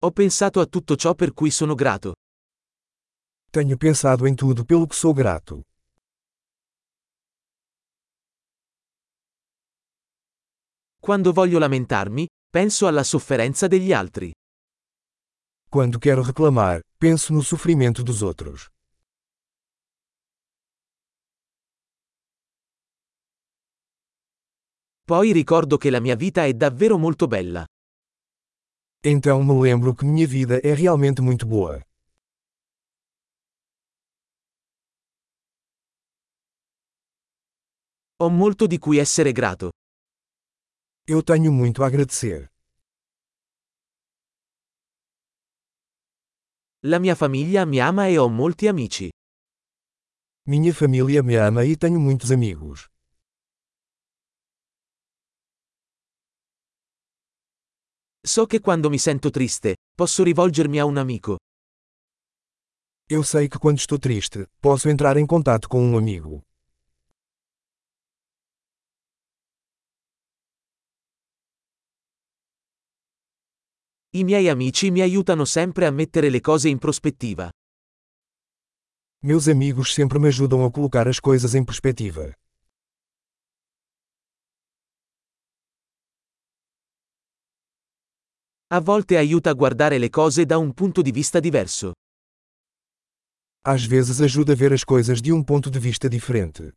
Ho pensato a tutto ciò per cui sono grato. Tenho pensado em tudo pelo que sou grato. Quando voglio lamentarmi, penso alla sofferenza degli altri. Quando quero reclamar, penso no sofrimento dos outros. Poi ricordo che la mia vita è davvero molto bella. Então me lembro que minha vida é realmente muito boa. Ho molto di cui essere grato. Eu tenho muito a agradecer. La mia famiglia mi ama e ho molti amici. Minha família me ama e tenho muitos amigos. So che quando mi sento triste, posso rivolgermi a un amico. Eu sei que quando estou triste, posso entrar em contato com um amigo. I miei amici mi aiutano sempre a mettere le cose in prospettiva. Meus amigos sempre me ajudam a colocar as coisas em perspectiva. A volte aiuta a guardare le cose da un punto di vista diverso. Às vezes ajuda a ver as coisas de um ponto de vista diferente.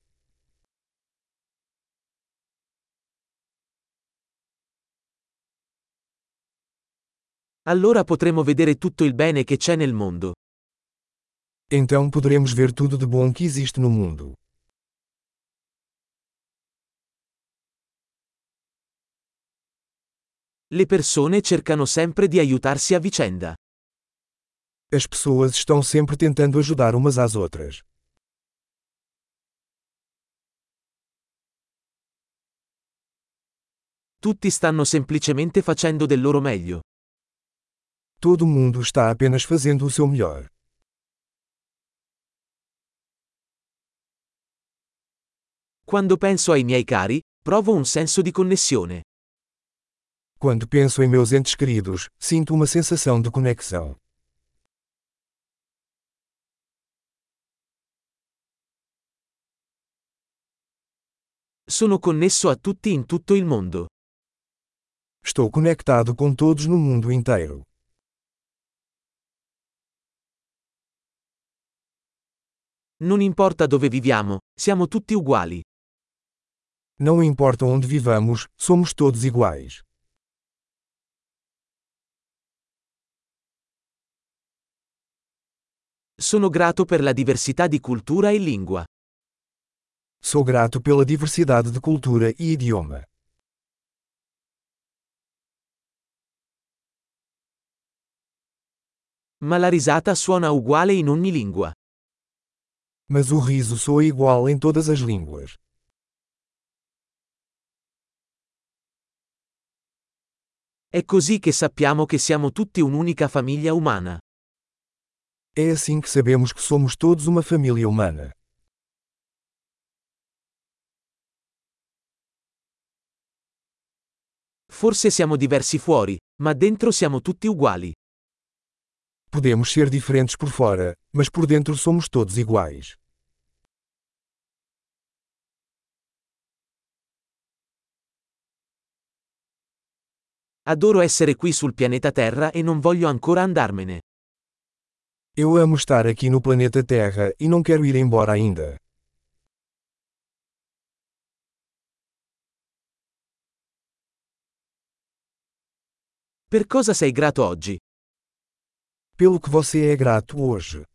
Allora potremo vedere tutto il bene che c'è nel mondo. Então poderemos ver tudo de bom que existe no mundo. Le persone cercano sempre di aiutarsi a vicenda. As pessoas estão sempre tentando ajudar umas às outras. Tutti stanno semplicemente facendo del loro meglio. Todo mundo está apenas fazendo o seu melhor. Quando penso ai miei cari, provo un senso di connessione. Quando penso em meus entes queridos, sinto uma sensação de conexão. Sono connesso a tutti in tutto il mondo. Estou conectado com todos no mundo inteiro. Non importa dove viviamo, siamo tutti uguali. Não importa onde vivamos, somos todos iguais. Sono grato per la diversità di cultura e lingua. Sou grato pela diversidade de cultura e idioma. Ma la risata suona uguale in ogni lingua. Mas o riso soa igual em todas as línguas. È così che sappiamo che siamo tutti un'unica famiglia umana. É assim que sabemos que somos todos uma família humana. Forse siamo diversi fuori, ma dentro siamo tutti uguali. Podemos ser diferentes por fora, mas por dentro somos todos iguais. Adoro essere qui sul pianeta Terra e non voglio ancora andarmene. Eu amo estar aqui no planeta Terra e não quero ir embora ainda. Per cosa sei grato oggi? Pelo que você é grato hoje.